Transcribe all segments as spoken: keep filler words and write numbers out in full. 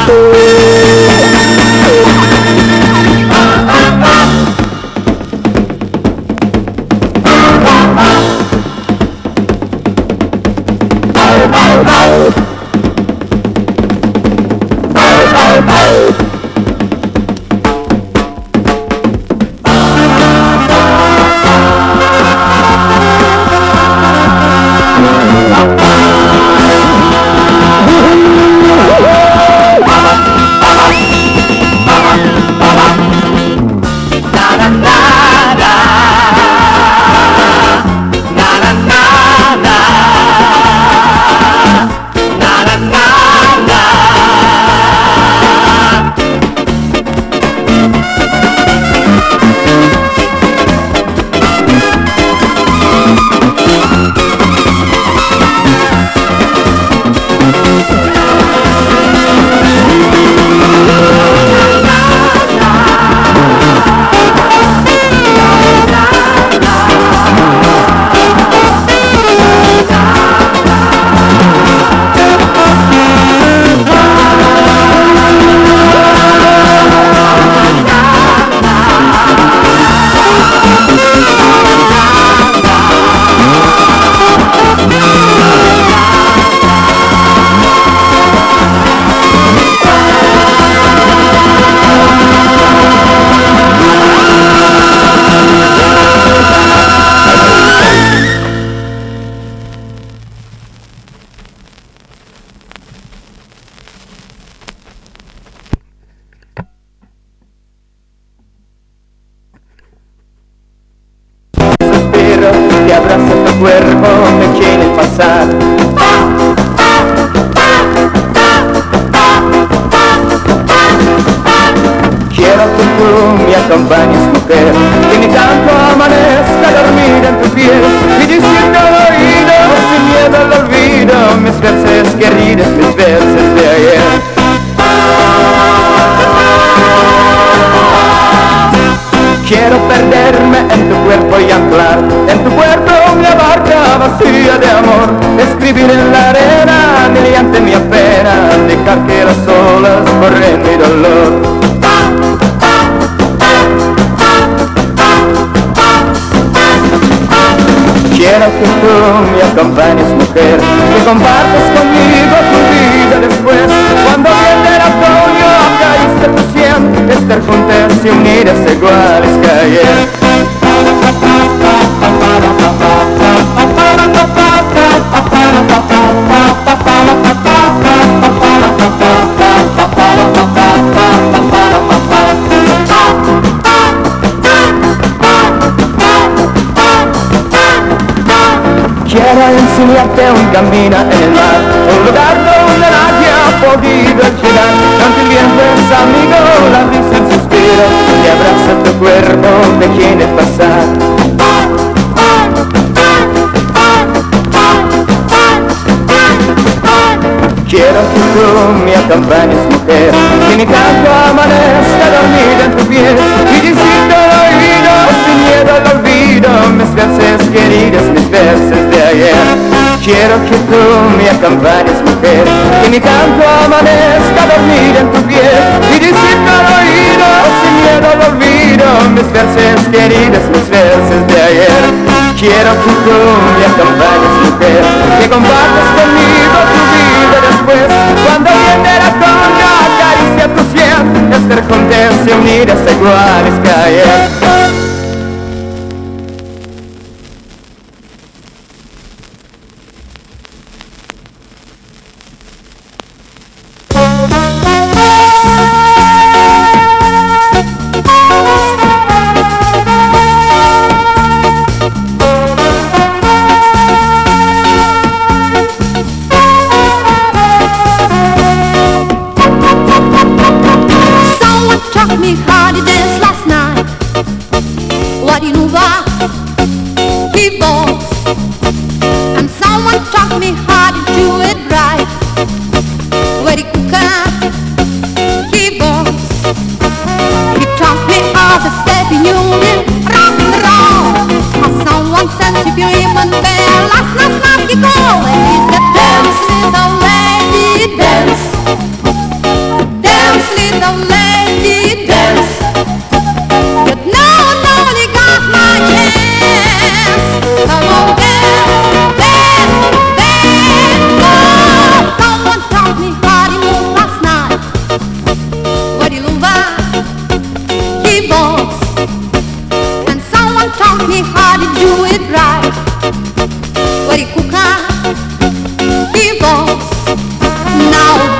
cuerpo me quiere pasar. Quiero que tú me acompañes, mujer, que mi canto amanezca dormida en tu piel y decirte al oído, sin miedo al olvido, mis versos queridos, mis versos de ayer. Quiero perderme en tu cuerpo y anclar en tu puerto una barca vacía de amor, escribir en la arena mediante mi pena, dejar que las olas borren mi dolor. Quiero que tú me acompañes, mujer, que compartas conmigo tu vida después, cuando viene el otoño acaricie tu sien, estar juntas y unidas iguales que ayer. Quiero enseñarte un camino en el mar, un lugar donde nadie ha podido llegar, donde el viento es amigo, la brisa el suspiro, que abraza tu cuerpo, te quiere pasar. Quiero que tú me acompañes, mujer, que mi canto amanezca dormida en tu piel y decirte al oído, sin miedo al olvido, mis versos queridos, mis versos de ayer. Quiero que tú me acompañes, mujer, que mi canto amanezca dormida en tu piel y decirte al oído, sin miedo al olvido, mis versos queridos, mis versos de ayer. Quiero que tú me acompañes, mujer, que compartas conmigo tu vida después, cuando viene el otoño acaricia tu sien, estar juntas y unidas iguales que ayer. Dance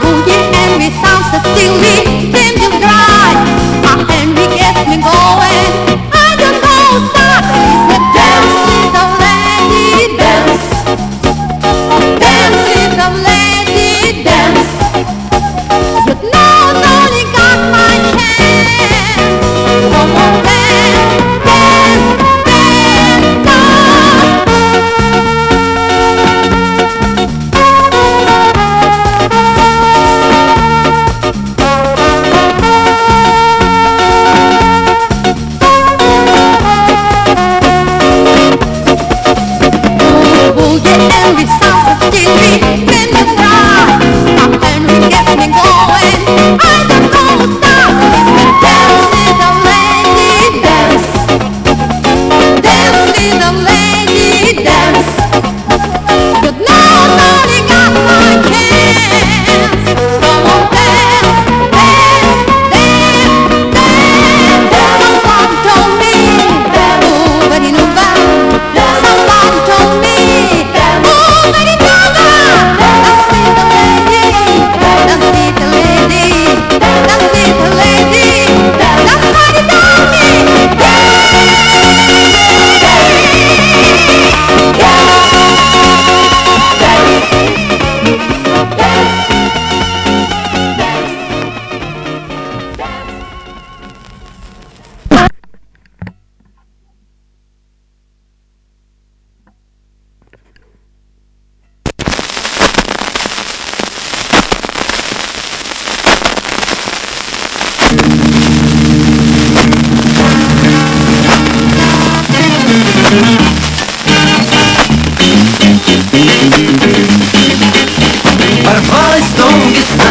Ворвалась в дом весна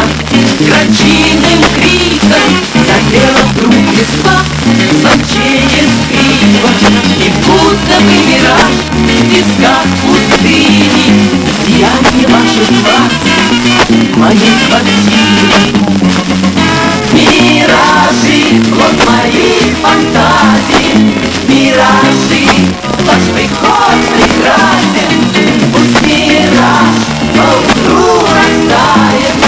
громчиным криком, запела вдруг весна звончее скрипа, и будто бы мираж в песках пустыни сияние ваших глаз моей квартиры. Миражи, плод моих фантазий, миражи, ваш приход прекрасен, пусть мираж поутру растает.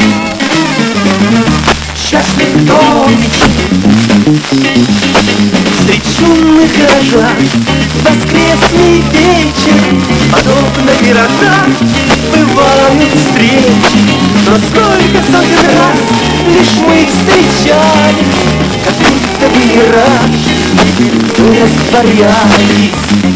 Счастлив кто мечты средь шумных горожан, воскресный вечер, подобно городам, бывают встречи. Но сколько сотен раз лишь мы встречались, как будто бы мираж, мы растворялись.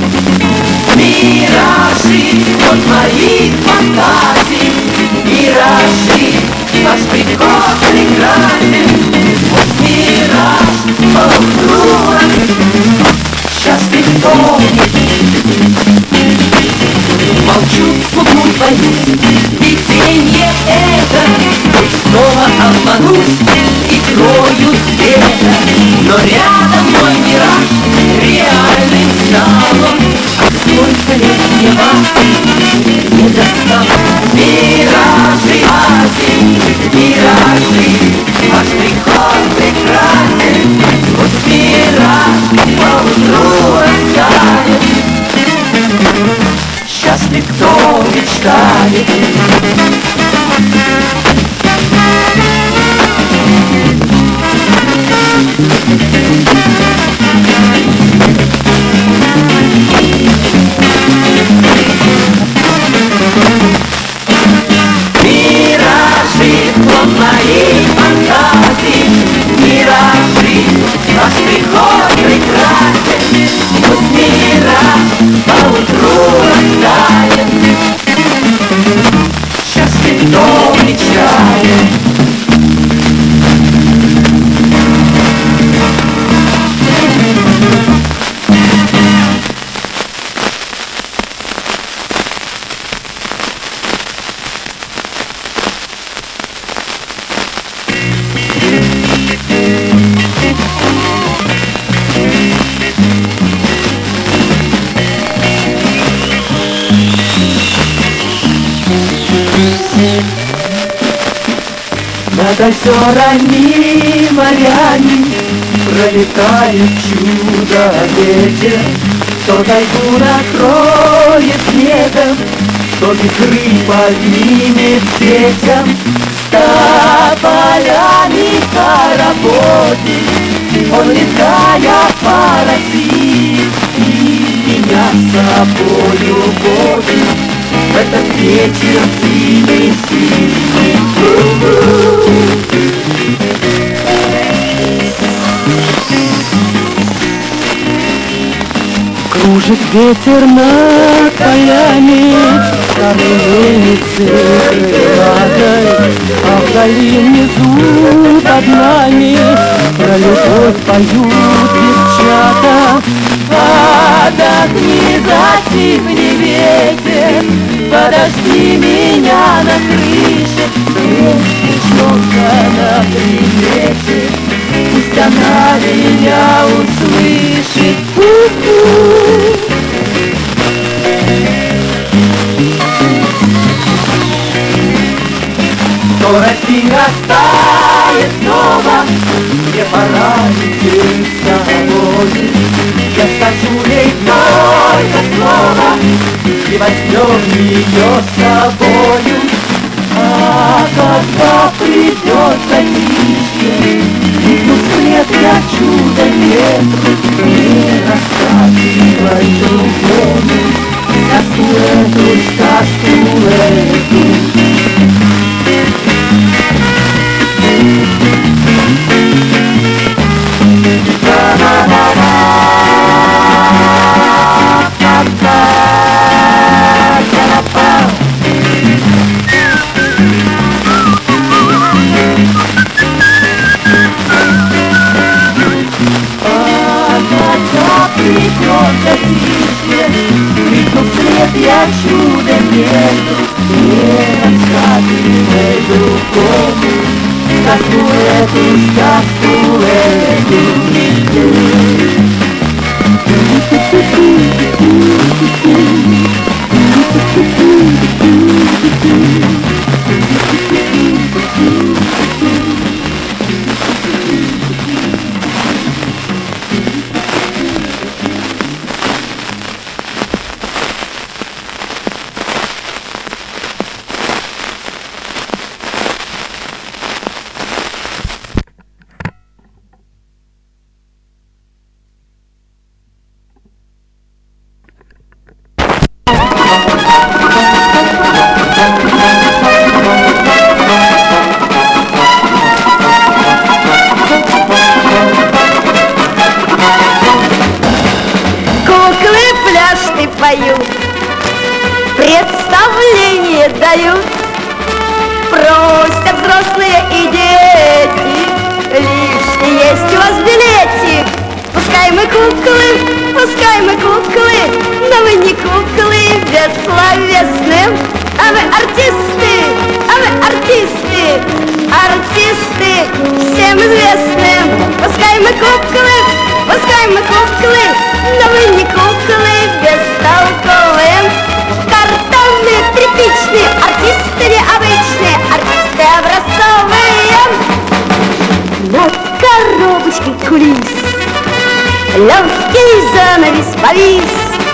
Миражи, вот моих фантазий, миражи, ваш приход прекрасен, пусть мираж поутру счастлив кто молчу, смогу боюсь, виденье это, пусть снова обманусь и крою света, но рядом мой мираж реальным стал он. Сколько лет мне вас не достал. Миражи, Азии, миражи, ваш приход прекрасен, пусть мираж поутру растает. Счастлив кто мечтает. Миражи, плод моей фантазии, миражи, ваш приход прекрасен, пусть мираж поутру растает. Счастлив кто мечтает. Над озерами, морями пролетает чудо-ветер, то тайгу накроет снегом, то вихры поднимет ветром. уходит, он летая паразит, и меня с собою водит в этот вечер зимний синий. Кружит ветер над полями, старой мельницы крылатой, а вдали внизу под нами про любовь поют девчата. Отдохни, затихни, ветер, подожди меня на крыше, есть снежка на примете, пусть она меня услышит. У-у. Скорость и растает снова, мне пора идти с тобой. Я скажу ей только слово, и возьмем ее с собою. А когда придет затишье, крикну вслед я чудо ветру, не рассказывай другому сказку эту, сказку эту. Я чудо ветру, не рассказывай другому сказку эту, сказку эту. Представление дают, просят взрослые и дети, лишний есть у вас билетик. Пускай мы куклы, пускай мы куклы, но мы не куклы бессловесные, а мы артисты, а мы артисты, артисты всем известные. Пускай мы куклы, пускай мы куклы, но мы не куклы бестолковые. Картонные, тряпичные, артисты необычные, артисты образцовые. Над коробочкой кулис легкий занавес повис.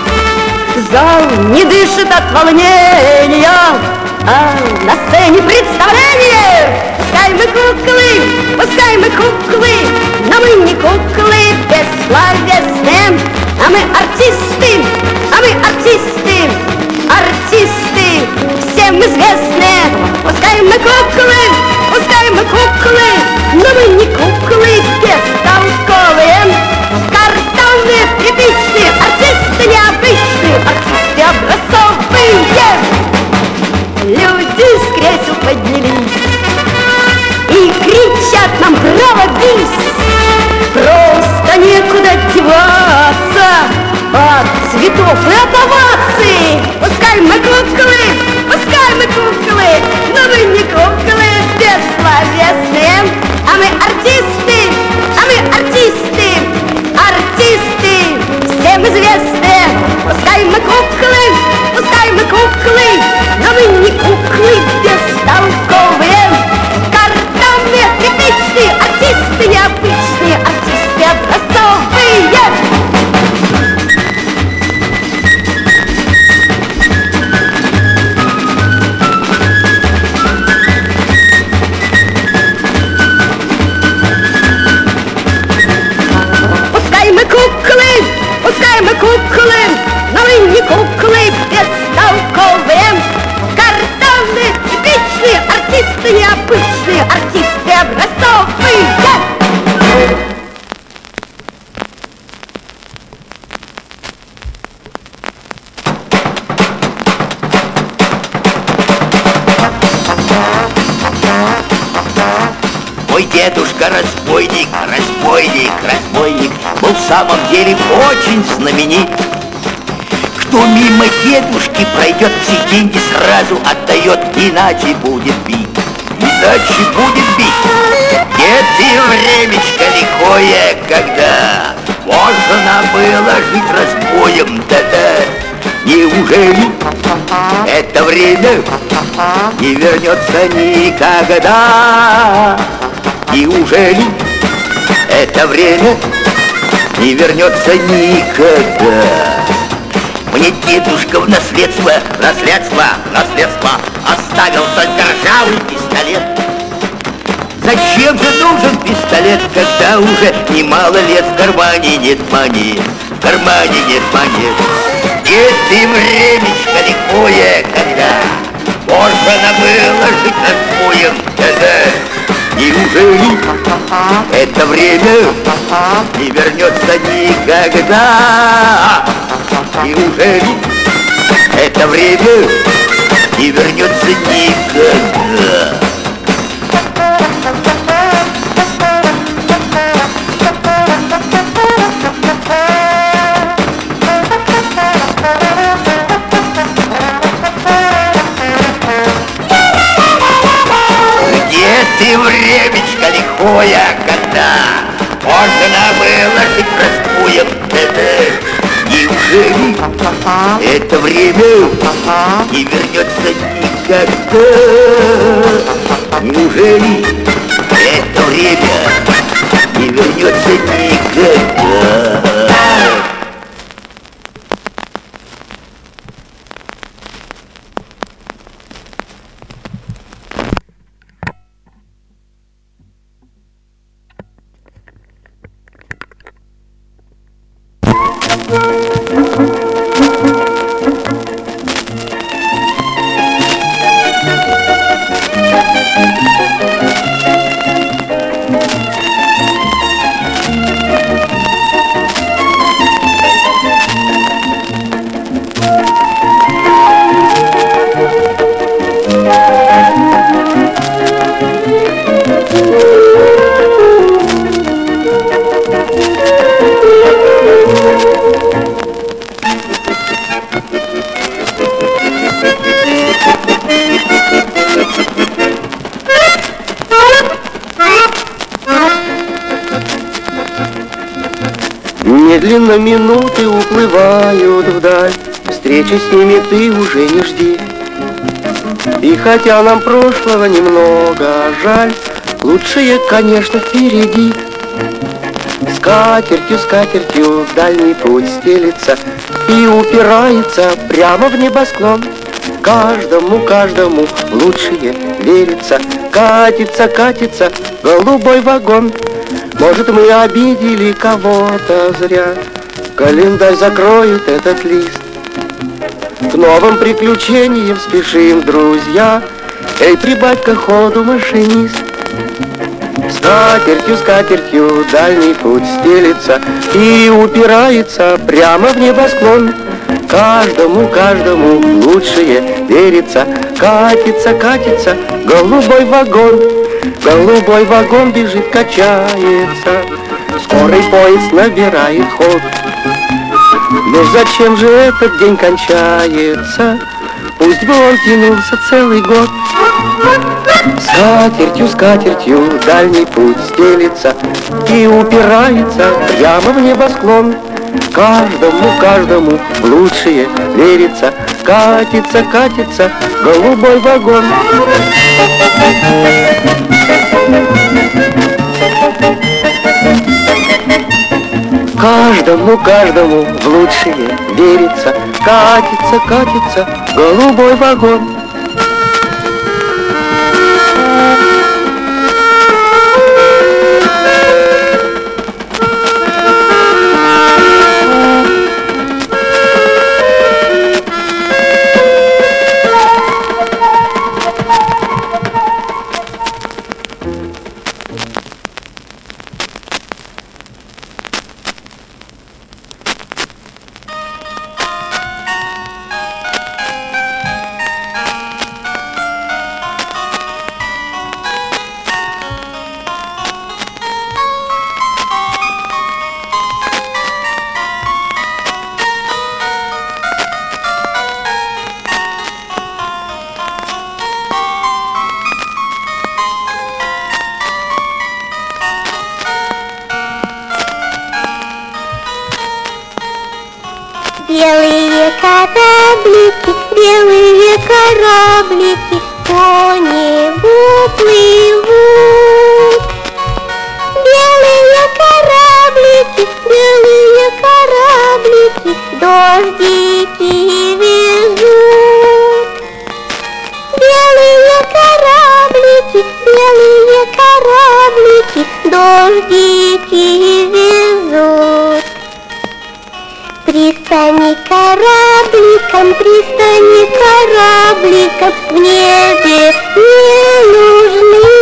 Зал не дышит от волнения, а на сцене представление. Пускай мы куклы, пускай мы куклы, но мы не куклы бессловесные, а мы артисты, а мы артисты, артисты всем известные. Пускай мы куклы, пускай мы куклы, но мы не куклы бестолковые. Картонные, тряпичные, артисты необычные, артисты образцовые. Люди с кресел поднялись и кричат нам браво, бис. Просто некуда деваться от цветов и от оваций. Пускай мы куклы, пускай мы куклы, но мы не куклы бессловесные, а мы артисты, а мы артисты, артисты всем известные. Пускай мы куклы, пускай мы куклы, но мы не куклы бестолковые. Картонные, тряпичные, артисты необычные, артисты образцовые. Молодцы, артисты образцовые! Мой дедушка разбойник, разбойник, разбойник был в самом деле очень знаменит. Кто мимо дедушки пройдет, все деньги сразу отдает, иначе будет бить, иначе будет бить. Дед и времечко лихое, когда можно было жить разбоем, да-да. Неужели это время не вернется никогда? Неужели это время не вернется никогда? Мне дедушка в наследство, наследство, наследство оставил только ржавый пистолет. Зачем же нужен пистолет, когда уже немало лет в кармане нет монет, в кармане нет монет? Дед и времечко лихое, когда можно было жить разбоем, да-да. Неужели это время не вернется никогда? Неужели это время не вернется никогда? Ты времечко лихое, когда можно было жить разбоем, да-да. Неужели это время не вернется никогда? Неужели это время не вернется никогда? Медленно минуты уплывают вдаль, встречи с ними ты уже не жди. И хотя нам прошлого немного жаль, лучшее, конечно, впереди. Скатертью, скатертью дальний путь стелится и упирается прямо в небосклон. Каждому, каждому лучшее верится, катится, катится голубой вагон. Может, мы обидели кого-то зря, календарь закроет этот лист. К новым приключениям спешим, друзья, эй, прибавь-ка ходу, машинист. Скатертью, скатертью дальний путь стелится и упирается прямо в небосклон. Каждому, каждому лучшее верится, катится, катится голубой вагон. Голубой вагон бежит, качается, скорый поезд набирает ход. Но зачем же этот день кончается? Пусть бы он тянулся целый год. Скатертью, скатертью дальний путь стелится и упирается прямо в небосклон. Каждому, каждому в лучшее верится, катится, катится голубой вагон. Каждому, каждому в лучшее верится, катится, катится голубой вагон. Белые кораблики, белые кораблики по небу плывут. Белые кораблики, белые кораблики дождики везут. Белые кораблики, белые кораблики дождики везут. Пристани корабликом, пристани корабликом в небе не нужны.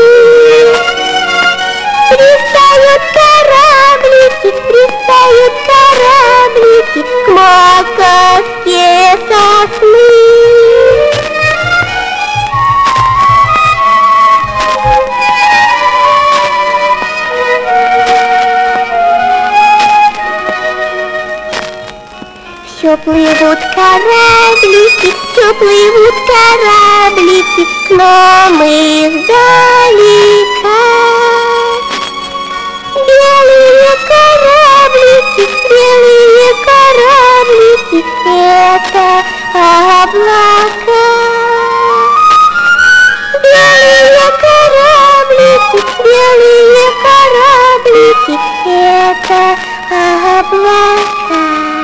Пристают кораблики, пристают кораблики к маковке сосны. Все плывут кораблики, все плывут кораблики, но мы издалека. Белые кораблики, белые кораблики, это облака. Белые кораблики, белые кораблики, это облака.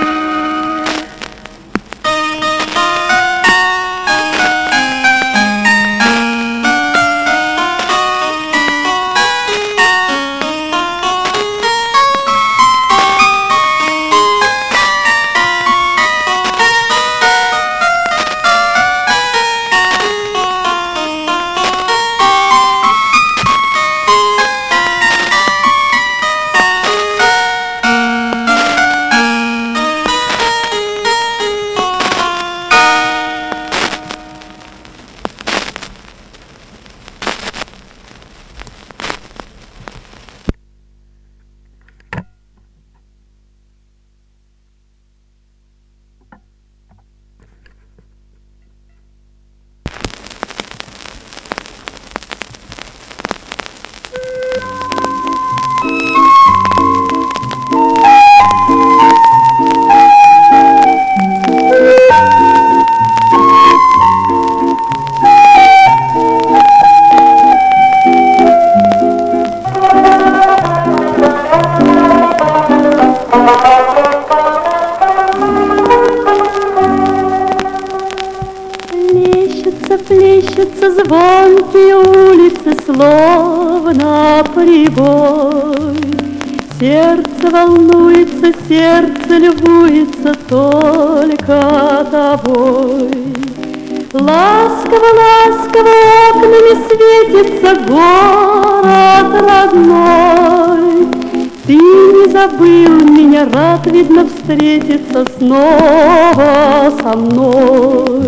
Плещутся звонкие улицы, словно прибой. Сердце волнуется, сердце любуется только тобой. Ласково, ласково окнами светится город родной. Ты не забыл меня, рад, видно, встретиться снова со мной.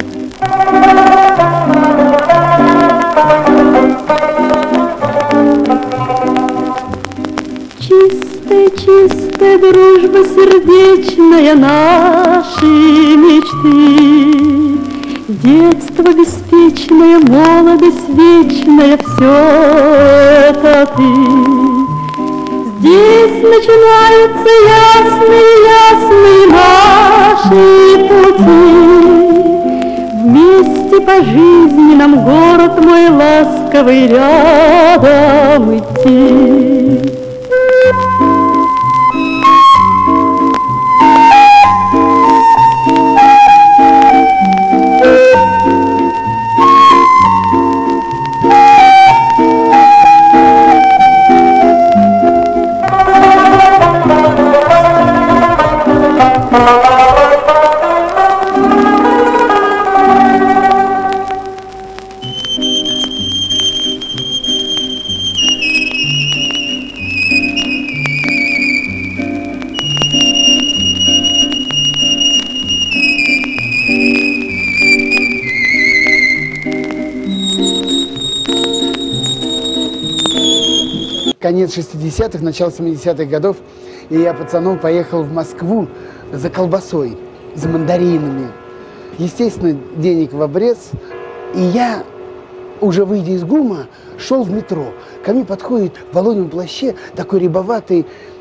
Чистая, чистая дружба сердечная, наши мечты, детство беспечное, молодость вечная, все это ты. Здесь начинаются ясные, ясные наши пути. Вместе по жизни нам, город мой ласковый, рядом идти. Конец шестидесятых, начало семидесятых годов, и я пацаном поехал в Москву за колбасой, за мандаринами. Естественно, денег в обрез, и я, уже выйдя из ГУМа, шел в метро. Ко мне подходит в воловьем плаще такой рябоватый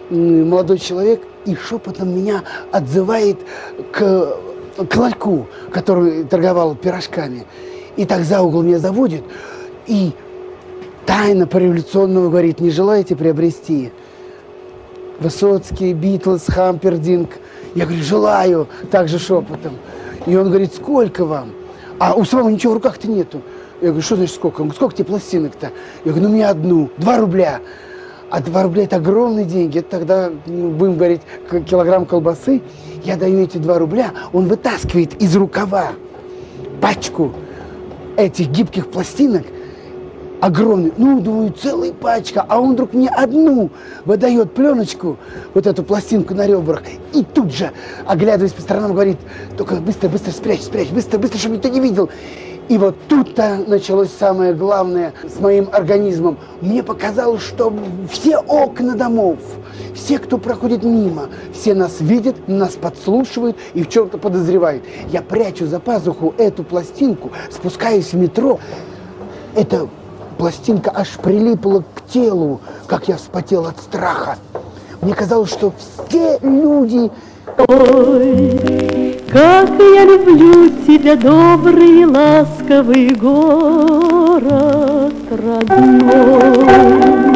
молодой человек и шепотом меня отзывает к, к ларьку, который торговал пирожками. И так за угол меня заводит и тайно по-революционному говорит: не желаете приобрести Высоцкий, Битлз, Хампердинг? Я говорю: желаю, также шепотом. И он говорит: сколько вам? А у самого ничего в руках-то нету. Я говорю: что значит сколько? Он говорит: сколько тебе пластинок-то? Я говорю: ну мне одну, два рубля. А два рубля это огромные деньги. Это тогда, ну, будем говорить, килограмм колбасы. Я даю эти два рубля, он вытаскивает из рукава пачку этих гибких пластинок, огромный, ну, думаю, целая пачка, а он вдруг мне одну выдает пленочку, вот эту пластинку на ребрах, и тут же, оглядываясь по сторонам, говорит: только быстро, быстро спрячь, спрячь, быстро, быстро, чтобы никто не видел. И вот тут-то началось самое главное с моим организмом. Мне показалось, что все окна домов, все, кто проходит мимо, все нас видят, нас подслушивают и в чем-то подозревают. Я прячу за пазуху эту пластинку, спускаюсь в метро. Эта пластинка аж прилипла к телу, как я вспотел от страха. Мне казалось, что все люди... Ой, как я люблю тебя, добрый и ласковый город родной.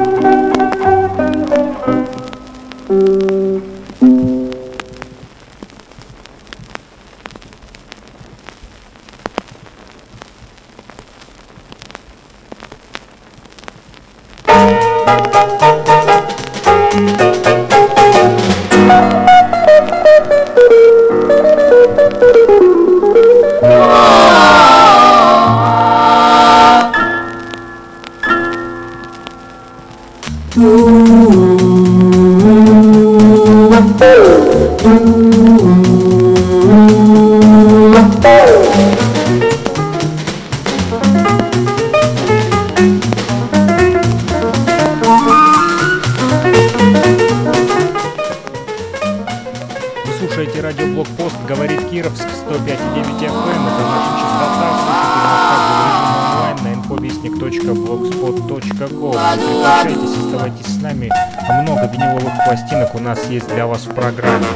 У нас есть для вас в программе.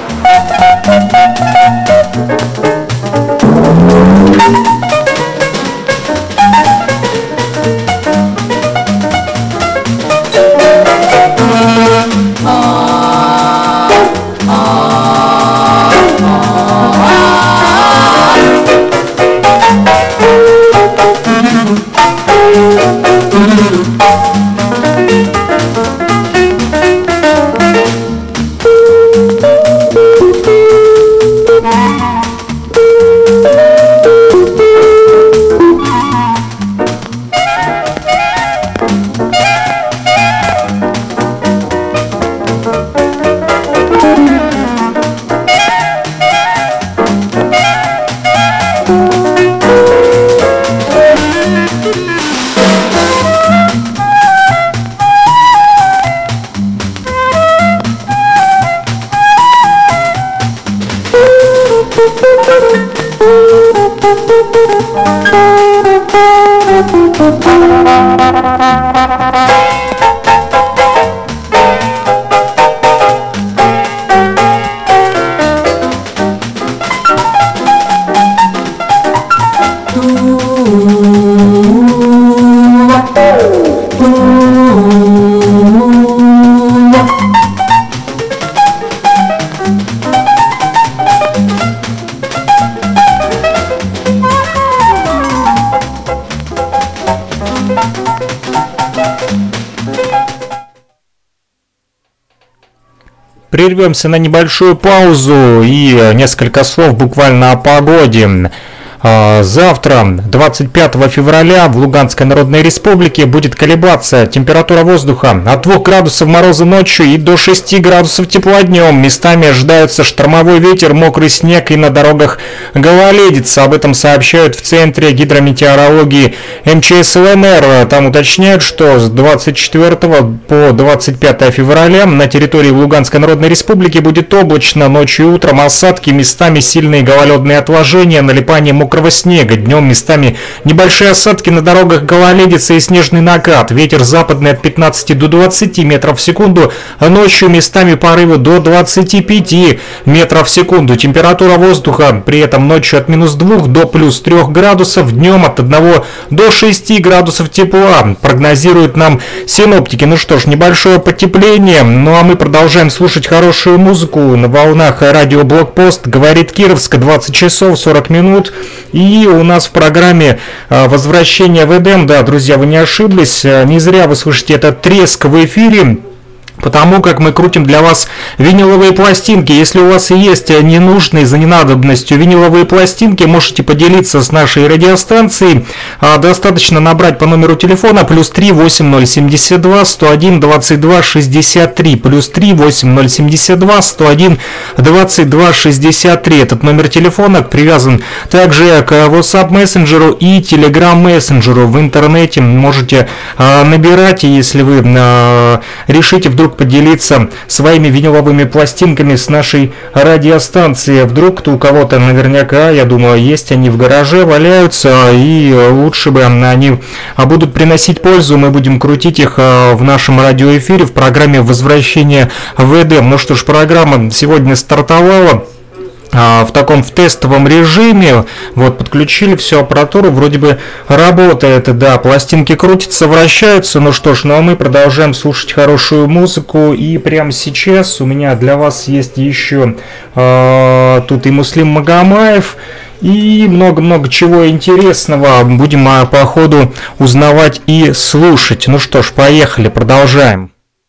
Прервемся на небольшую паузу и несколько слов буквально о погоде. Завтра, двадцать пятого февраля, в Луганской Народной Республике будет колебаться температура воздуха от двух градусов мороза ночью и до шести градусов тепла днем. Местами ожидается штормовой ветер, мокрый снег и на дорогах гололедица. Об этом сообщают в Центре гидрометеорологии эм че эс эл эн эр. Там уточняют, что с двадцать четвёртого по двадцать пятое февраля на территории Луганской Народной Республики будет облачно, ночью и утром осадки, местами сильные гололедные отложения, налипание мокрого мокрого снега. Днем местами небольшие осадки на дорогах, гололедица и снежный накат. Ветер западный от пятнадцати до двадцати метров в секунду. Ночью местами порывы до двадцати пяти метров в секунду. Температура воздуха при этом ночью от минус двух до плюс трех градусов. Днем от одного до шести градусов тепла. Прогнозируют нам синоптики. Ну что ж, небольшое потепление. Ну а мы продолжаем слушать хорошую музыку на волнах радио Блокпост. Говорит Кировск, двадцать часов сорок минут. И у нас в программе «Возвращение в Эдем». Да, друзья, вы не ошиблись. Не зря вы слышите этот треск в эфире, потому как мы крутим для вас виниловые пластинки. Если у вас есть ненужные за ненадобностью виниловые пластинки, можете поделиться с нашей радиостанцией. Достаточно набрать по номеру телефона плюс три восемь ноль семь два сто один двадцать два шестьдесят три, плюс три восемь ноль семь два сто один двадцать два шестьдесят три. Этот номер телефона привязан также к WhatsApp мессенджеру и Telegram мессенджеру. В интернете можете набирать, если вы решите вдруг поделиться своими виниловыми пластинками с нашей радиостанцией. Вдруг кто у кого-то наверняка, я думаю, есть они в гараже, валяются, и лучше бы они будут приносить пользу. Мы будем крутить их в нашем радиоэфире в программе «Возвращение в Эдем». Ну что ж, программа сегодня стартовала в таком в тестовом режиме. Вот, подключили всю аппаратуру, вроде бы работает, да, пластинки крутятся, вращаются. Ну что ж, ну а мы продолжаем слушать хорошую музыку, и прямо сейчас у меня для вас есть еще э, тут и Муслим Магомаев, и много-много чего интересного будем а, по ходу узнавать и слушать. Ну что ж, поехали, продолжаем.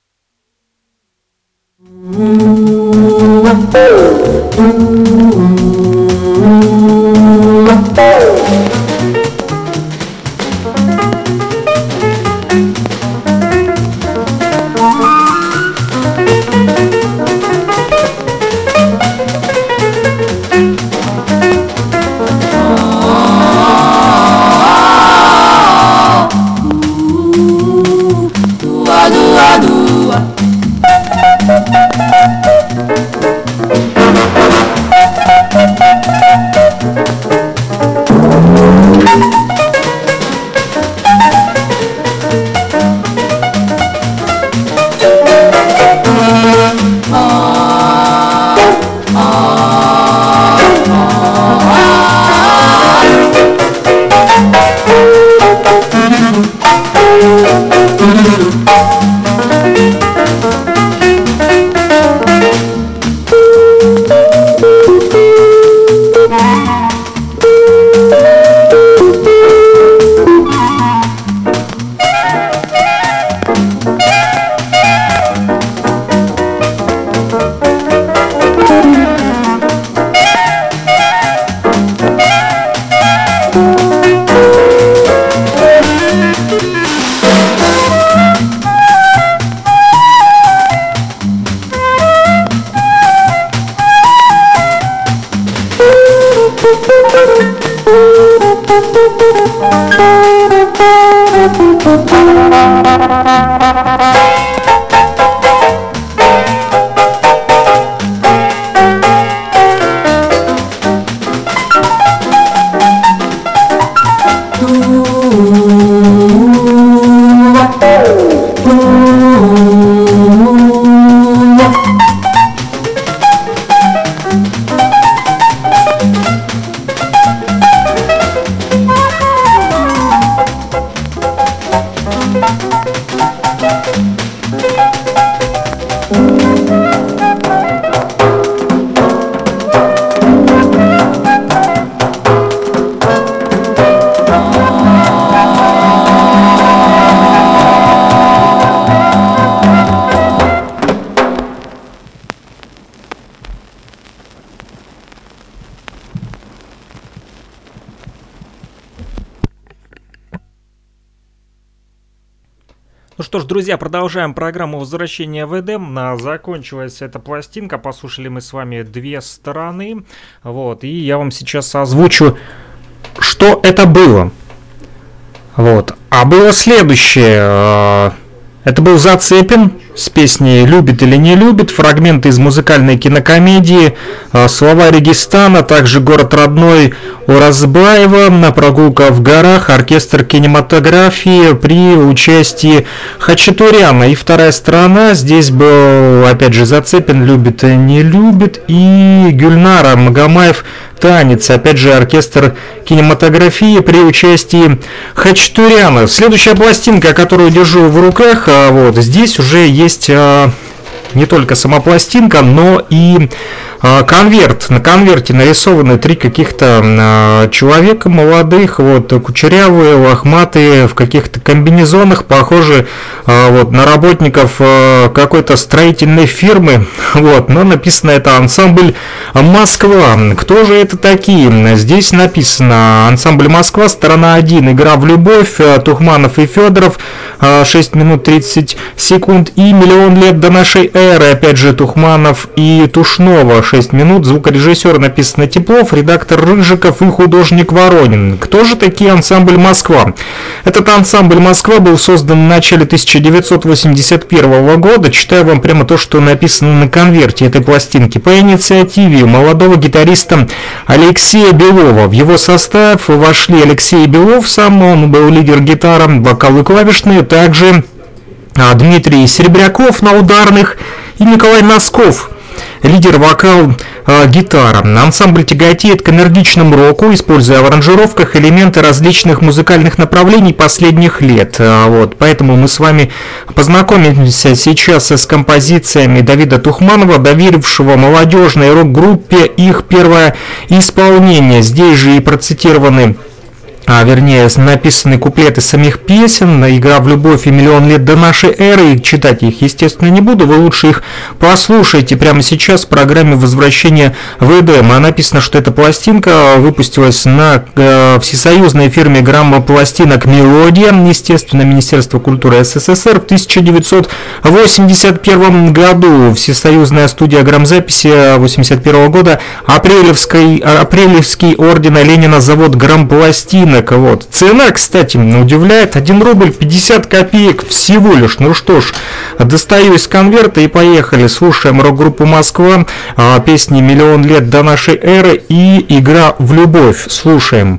Ну что ж, друзья, продолжаем программу «Возвращение в Эдем». Закончилась эта пластинка, послушали мы с вами две стороны. Вот, и я вам сейчас озвучу, что это было. Вот, а было следующее. Это был Зацепин, с песней «Любит или не любит», фрагменты из музыкальной кинокомедии, слова Регистана, также «Город родной» Уразбаева, на «Прогулка в горах», оркестр кинематографии при участии Хачатуряна. И вторая сторона, здесь был опять же Зацепин «Любит и не любит» и Гюльнара Магомаев «Танец», опять же оркестр кинематографии при участии Хачатуряна. Следующая пластинка, которую держу в руках, вот здесь уже есть не только сама пластинка, но и конверт. На конверте нарисованы три каких-то человека молодых, вот, кучерявые, лохматые, в каких-то комбинезонах, похожи вот, на работников какой-то строительной фирмы, вот, но написано это ансамбль «Москва». Кто же это такие? Здесь написано ансамбль «Москва», сторона один, игра в любовь, Тухманов и Федоров, шесть минут тридцать секунд, и «Миллион лет до нашей эры», опять же Тухманов и Тушнова, шесть минут, звукорежиссер написано Теплов, редактор Рыжиков и художник Воронин. Кто же такие ансамбль «Москва»? Этот ансамбль «Москва» был создан в начале тысяча девятьсот восемьдесят первого года. Читаю вам прямо то, что написано на конверте этой пластинки. По инициативе молодого гитариста Алексея Белова. В его состав вошли Алексей Белов, сам он был лидер гитары, вокал и клавишные, также Дмитрий Серебряков на ударных и Николай Носков, лидер вокал, э, гитара. Ансамбль тяготеет к энергичному року, используя в аранжировках элементы различных музыкальных направлений последних лет. Э, вот, поэтому мы с вами познакомимся сейчас с композициями Давида Тухманова, доверившего молодежной рок-группе их первое исполнение. Здесь же и процитированы А, вернее, написаны куплеты самих песен, игра в любовь и «Миллион лет до нашей эры». Читать их, естественно, не буду, вы лучше их послушайте прямо сейчас в программе «Возвращение в Эдем». А написано, что эта пластинка выпустилась на э, всесоюзной фирме граммопластинок «Мелодия», естественно, Министерство культуры СССР, в тысяча девятьсот восемьдесят первом году. Всесоюзная студия грамзаписи восемьдесят первого года, Апрелевский, Апрелевский ордена Ленина, завод грампластин. Вот. Цена, кстати, удивляет, один рубль пятьдесят копеек всего лишь. Ну что ж, достаю из конверта и поехали. Слушаем рок-группу «Москва», песни «Миллион лет до нашей эры» и «Игра в любовь». Слушаем.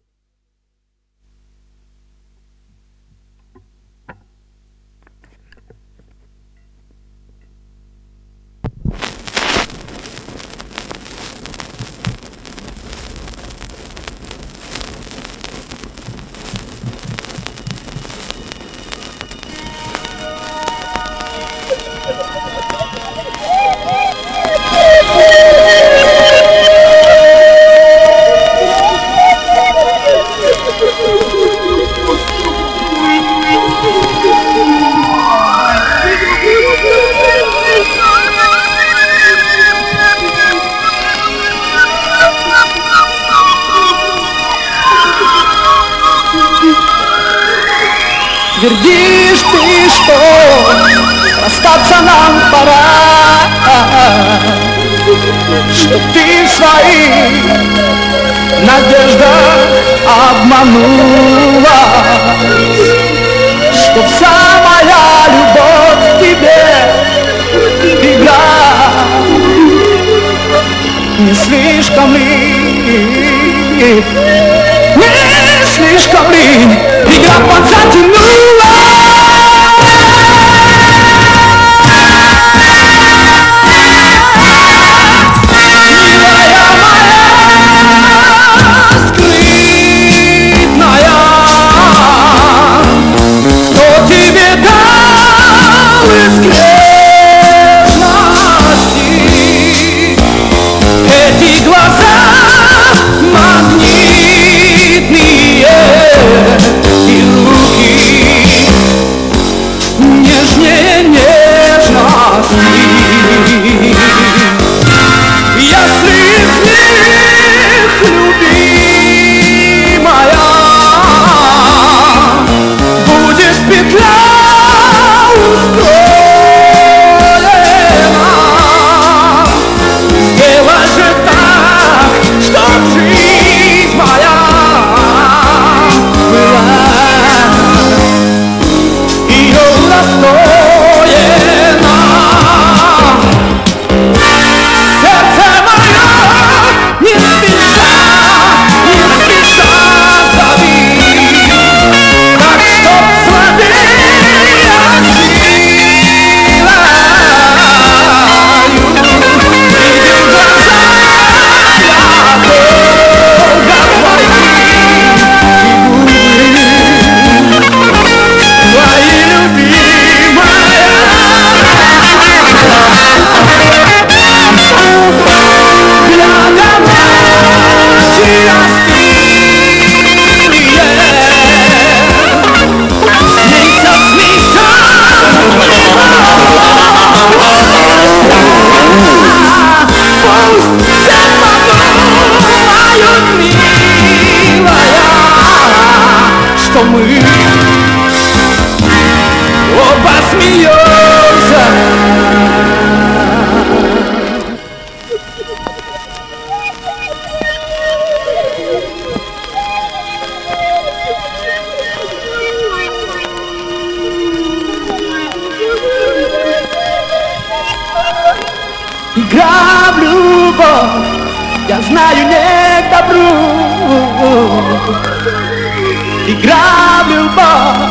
Твердишь ты, что расстаться нам пора, что ты в своих надеждах обманула, что вся моя любовь к тебе игра. Не слишком ли, не слишком ли игра подзатянула? И руки смеется. Игра в любовь, я знаю, не к добру. Игра в любовь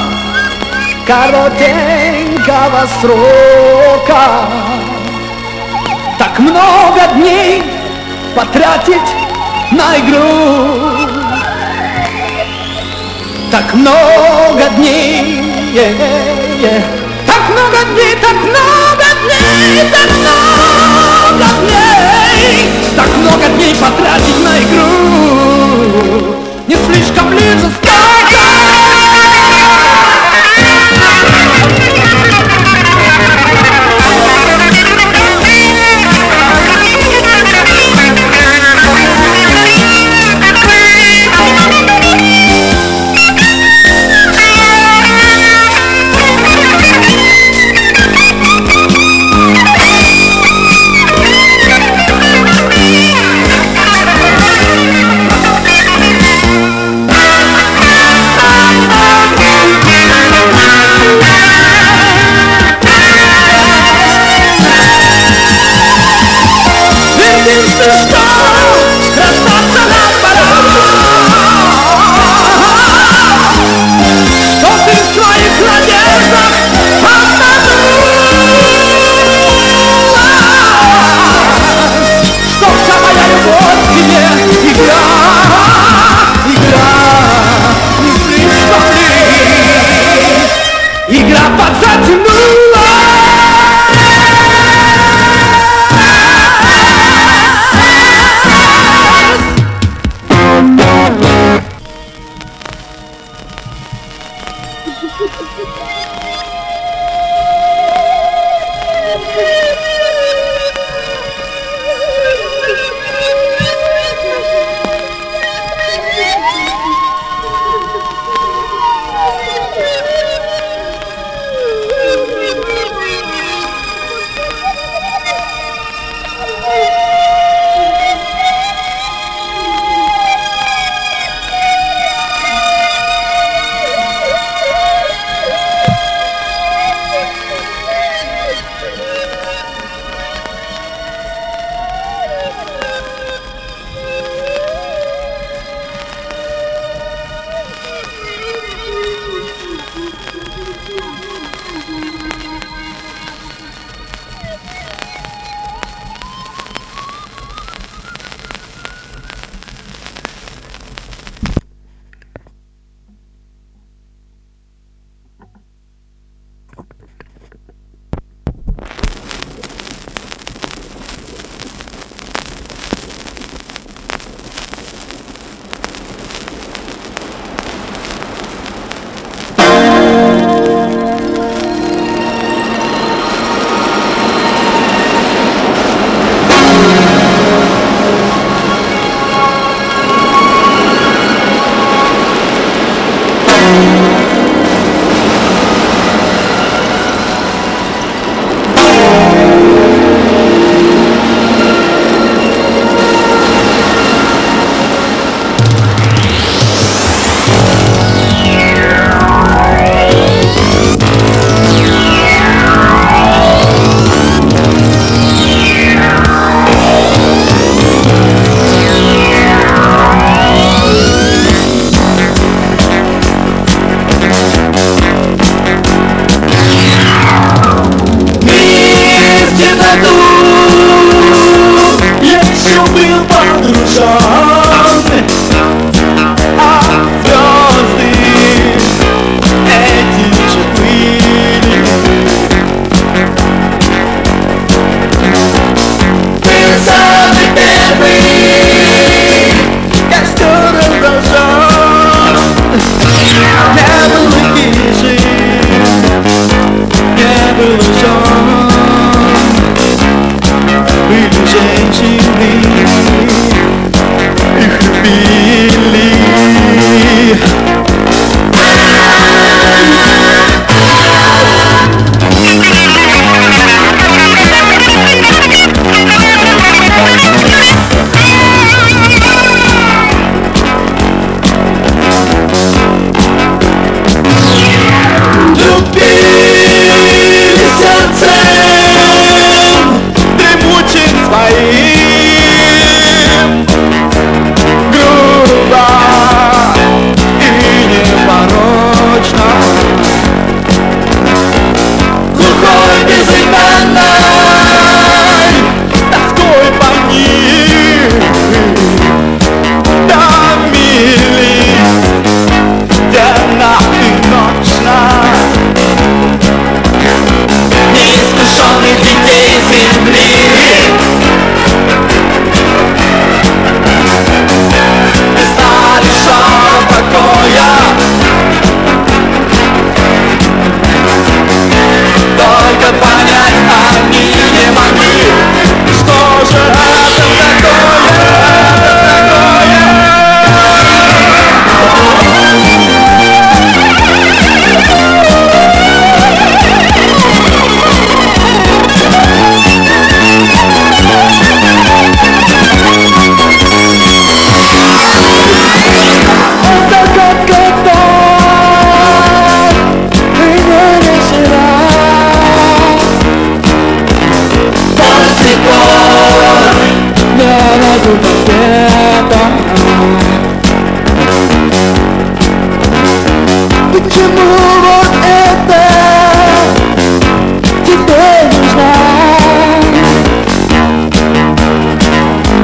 коротенького срока. Так много дней потратить на игру. Так много дней, yeah, yeah. Так много дней, так много дней, так много дней, так много дней потратить на игру. Не слишком ли жестоко?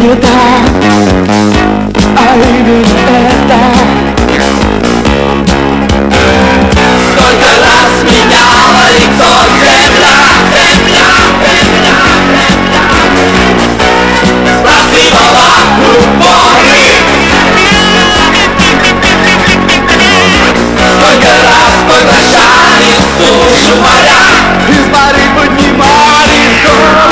сюда, а именно это. Сколько раз меняла лицо земля, земля, земля, земля, спрашивала упоры. Сколько раз поглощали сушу моря, из моря поднимали горы.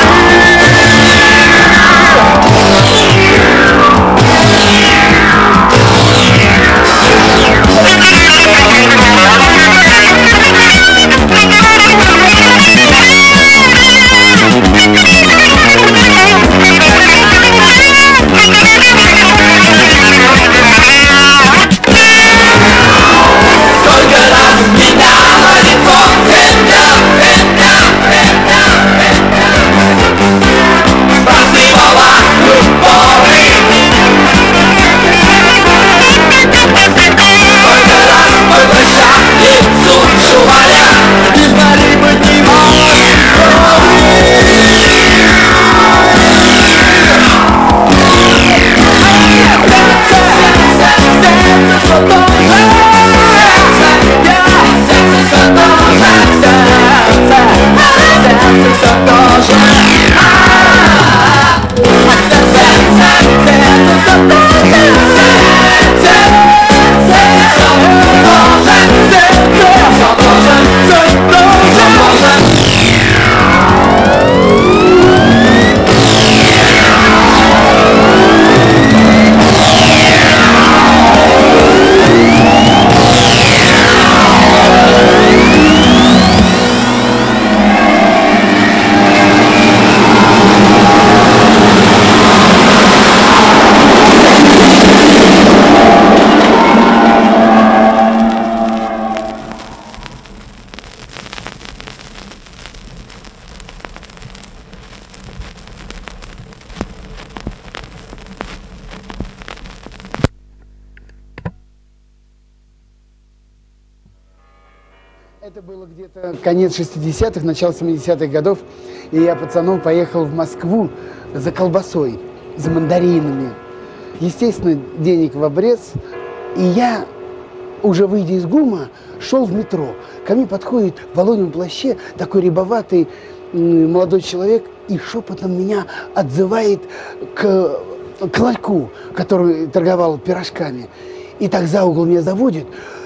Это было где-то конец шестидесятых, начало семидесятых годов, и я пацаном поехал в Москву за колбасой, за мандаринами. Естественно, денег в обрез, и я, уже выйдя из ГУМа, шел в метро. Ко мне подходит в воловьем плаще такой рябоватый молодой человек и шепотом меня отзывает к, к ларьку, который торговал пирожками. И так за угол меня заводит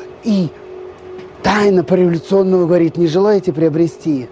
и тайно по-революционному говорит: не желаете приобрести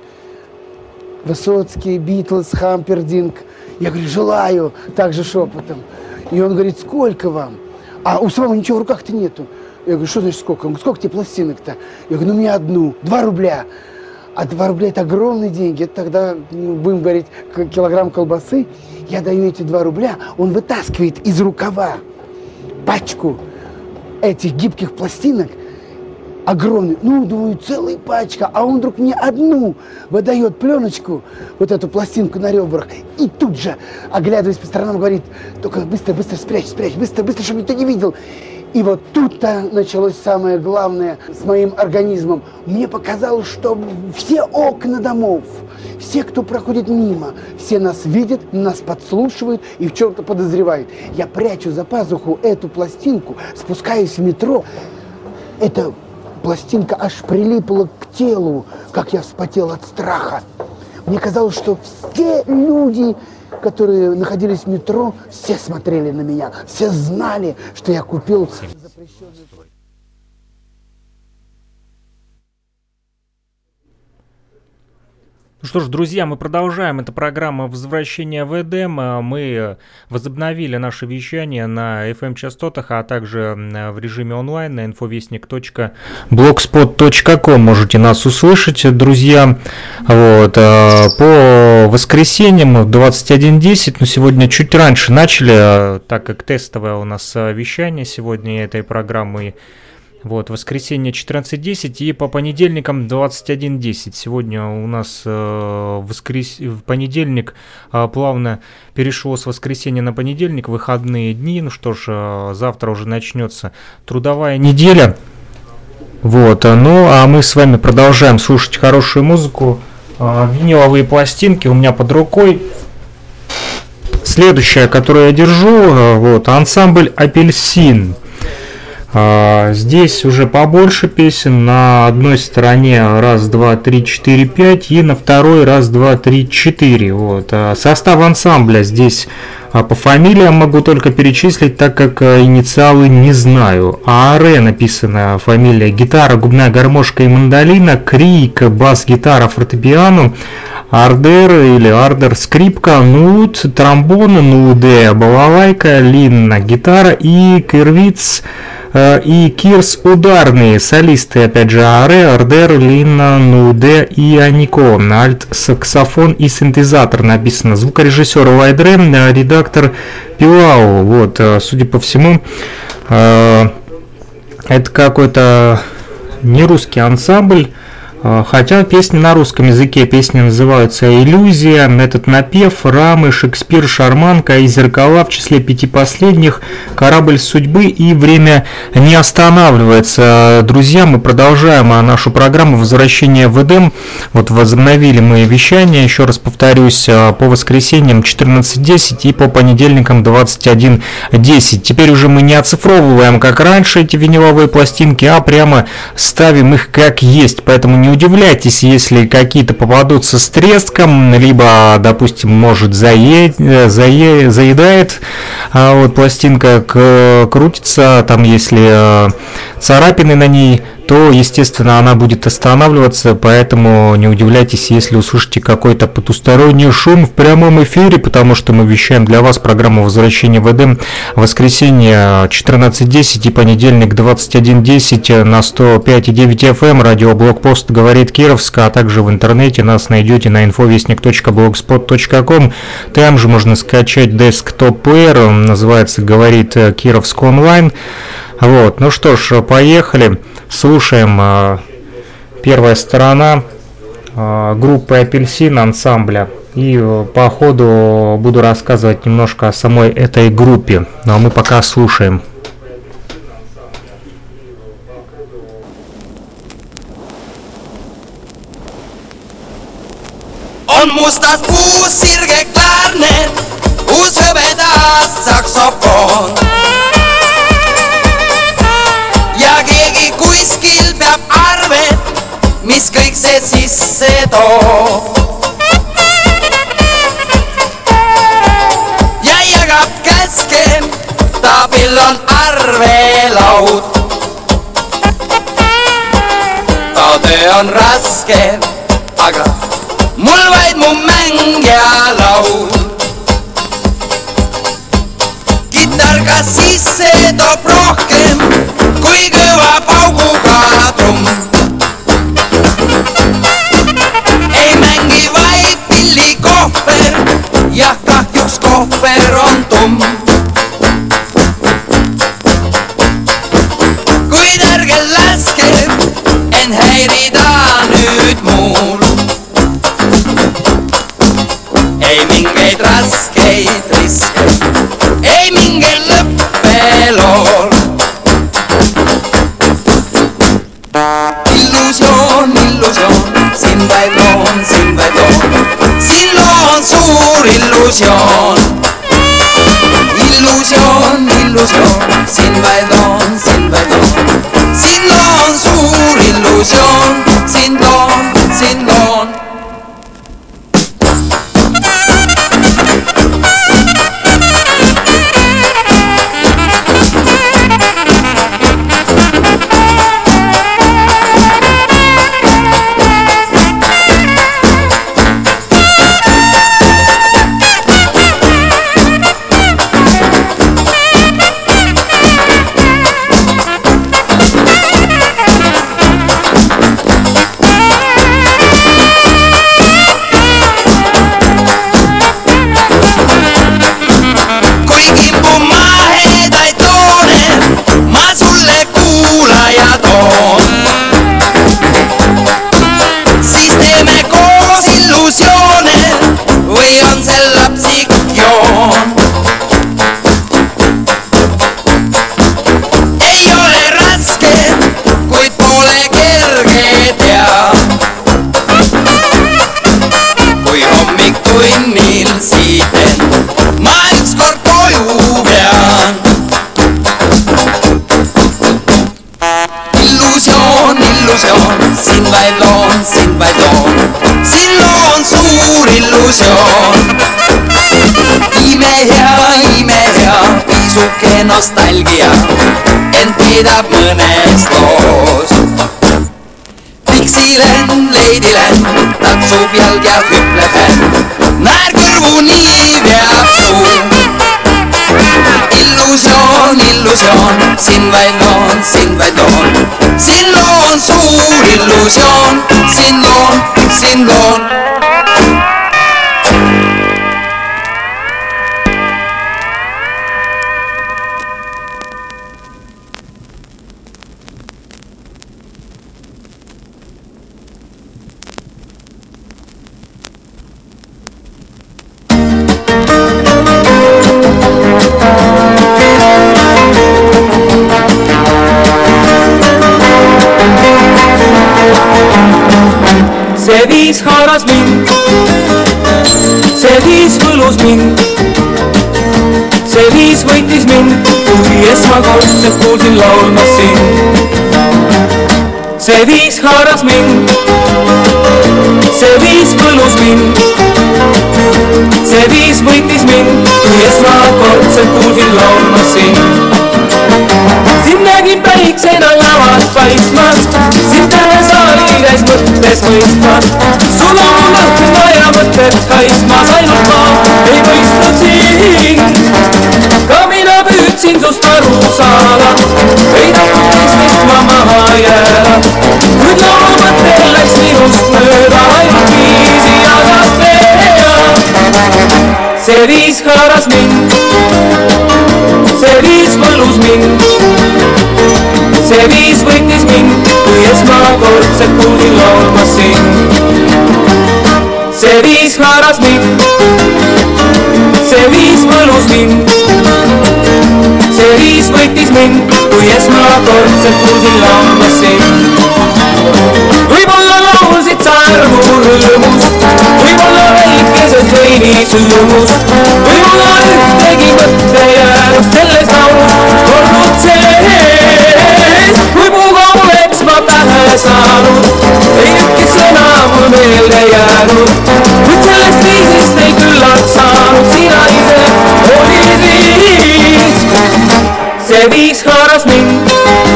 Высоцкий, Битлз, Хампердинг? Я говорю: желаю, также шепотом. И он говорит: сколько вам? А у самого ничего в руках-то нету. Я говорю: что значит сколько? Он говорит: сколько тебе пластинок-то? Я говорю: ну мне одну, два рубля. А два рубля это огромные деньги. Это тогда, ну, будем говорить, килограмм колбасы. Я даю эти два рубля, он вытаскивает из рукава пачку этих гибких пластинок, огромный, ну, думаю, целая пачка, а он вдруг мне одну выдает пленочку, вот эту пластинку на ребрах, и тут же, оглядываясь по сторонам, говорит: только быстро, быстро спрячь, спрячь, быстро, быстро, чтобы никто не видел. И вот тут-то началось самое главное с моим организмом. Мне показалось, что все окна домов, все, кто проходит мимо, все нас видят, нас подслушивают и в чем-то подозревают. Я прячу за пазуху эту пластинку, спускаюсь в метро. Эта пластинка аж прилипла к телу, как я вспотел от страха. Мне казалось, что все люди, которые находились в метро, все смотрели на меня, все знали, что я купил запрещенную... Ну что ж, друзья, мы продолжаем. Это программа «Возвращение в Эдем». Мы возобновили наше вещание на эф эм-частотах, а также в режиме онлайн на инфовестник точка блогспот точка ком. Можете нас услышать, друзья. Вот. По воскресеньям в двадцать один десять, но сегодня чуть раньше начали, так как тестовое у нас вещание сегодня этой программы. Вот, воскресенье четырнадцать десять и по понедельникам двадцать один десять. Сегодня у нас э, воскрес... в понедельник э, плавно перешло с воскресенья на понедельник, выходные дни. Ну что ж, э, завтра уже начнется трудовая неделя. Вот, ну а мы с вами продолжаем слушать хорошую музыку. Э, виниловые пластинки у меня под рукой. Следующая, которую я держу, вот, ансамбль «Апельсин». Здесь уже побольше песен. На одной стороне раз, два, три, четыре, пять, и на второй раз, два, три, четыре. Вот. Состав ансамбля здесь по фамилиям могу только перечислить, так как инициалы не знаю. АР написана фамилия: гитара, губная гармошка и мандолина, крик, бас-гитара, фортепиано, ардер или ардер, скрипка, нут, тромбон, нуде, балалайка, лин, гитара и кирвиц и кирс ударные, солисты, опять же, аре, ардер, лина, нуде и анико, альт, саксофон и синтезатор написано, звукорежиссер Вайдре, редактор Пилау. Вот, судя по всему, это какой-то не русский ансамбль. Хотя песни на русском языке, песни называются «Иллюзия», «Этот напев», «Рамы», «Шекспир», «Шарманка» и «Зеркала», в числе пяти последних «Корабль судьбы» и «Время не останавливается». Друзья, мы продолжаем нашу программу «Возвращение в Эдем». Вот возобновили мы вещание, еще раз повторюсь, по воскресеньям четырнадцать десять и по понедельникам двадцать один десять. Теперь уже мы не оцифровываем, как раньше, эти виниловые пластинки, а прямо ставим их как есть, поэтому не удивляйтесь, если какие-то попадутся с треском, либо, допустим, может зае... Зае... заедает, а вот пластинка к... крутится, там если царапины на ней, то, естественно, она будет останавливаться, поэтому не удивляйтесь, если услышите какой-то потусторонний шум в прямом эфире, потому что мы вещаем для вас программу «Возвращение в Эдем» в воскресенье четырнадцать десять и понедельник двадцать один десять на сто пять и девять эф эм, радиоблогпост «Говорит Кировск», а также в интернете нас найдете на инфовестник точка блогспот точка ком. Там же можно скачать десктоп-плеер, называется «Говорит Кировск онлайн». Вот, ну что ж, поехали. Слушаем первая сторона группы «Апельсин», ансамбля. И по ходу буду рассказывать немножко о самой этой группе. Ну а мы пока слушаем. On mustat puusirge klarnet, uus hõbedas saksofon. Ja keegi kuskil peab arvet, mis kõik see sisse toob. Ja jagab käske, taabil on arvelaud. Ta töö on raske, aga mul vaid mu mäng ja laul. Kitar ka sisse toob rohkem kui kõva pauguga trumm. Ei mängi vaid pillikohver, jah kahjuks kohver on tumm. Kuid ärge laske en häirida nüüd muul. Ei mingeid raskeid riske, ei mingeid lõppelool. Illusioon, illusioon, siin vaid loon, siin vaid loon. Siin loon suur illusioon. Illusioon, illusioon, siin vaid loon, siin vaid loon. Siin loon suur illusioon, siin loon, siin loon. illusioon. Imehea, imehea, isuke nostalgia, ent peidab mõnes loos. Dixieland, Ladyland, tatsub jalg ja hüpleb händ, naer kõrvu nii veab suu. Illusioon, illusioon, siin vaid loon, siin vaid loon, siin loon suur illusioon, siin loon, siin loon. See viis haaras mind, see viis võlus mind, see viis võitis mind, kui esmakordselt kuulsin laulmas sind. See viis haaras mind, see viis võlus mind, see viis võitis mind, kui esmakordselt kuulsin laulmas sind. Sind nägin päiksena lavas paistmas, sind tähe saali käis mõttes mõistmas. Sul on lõhna ja mõtted haismas, ainult ma ei mõistnud sind. Ka mina püüdsin sust aru saada, ei tahtnud teistest ma maha jääda. Kuid laulu mõttel läks minust mööda, ainult viisi jagas veeda. See viis haaras mind, see viis võlus mind, see viis võitis mind, kui esmakordselt kuulsin laulmas sind. See viis haaras mind, see viis võlus mind, see viis võitis mind, kui esmakordselt kuulsin laulmas sind. Võib-olla laulsid sa armu rõõmust, võib-olla väikesed veinis õõmust, võib-olla ühtegi mõtte jäänud selles laulus olnud sees. Kui puga oleks ma pähe saanud, ei ükki sõna mul meelde jäänud, kuid sellest viisist ei küllalt saanud, sina ise olid viis. See viis haaras mind,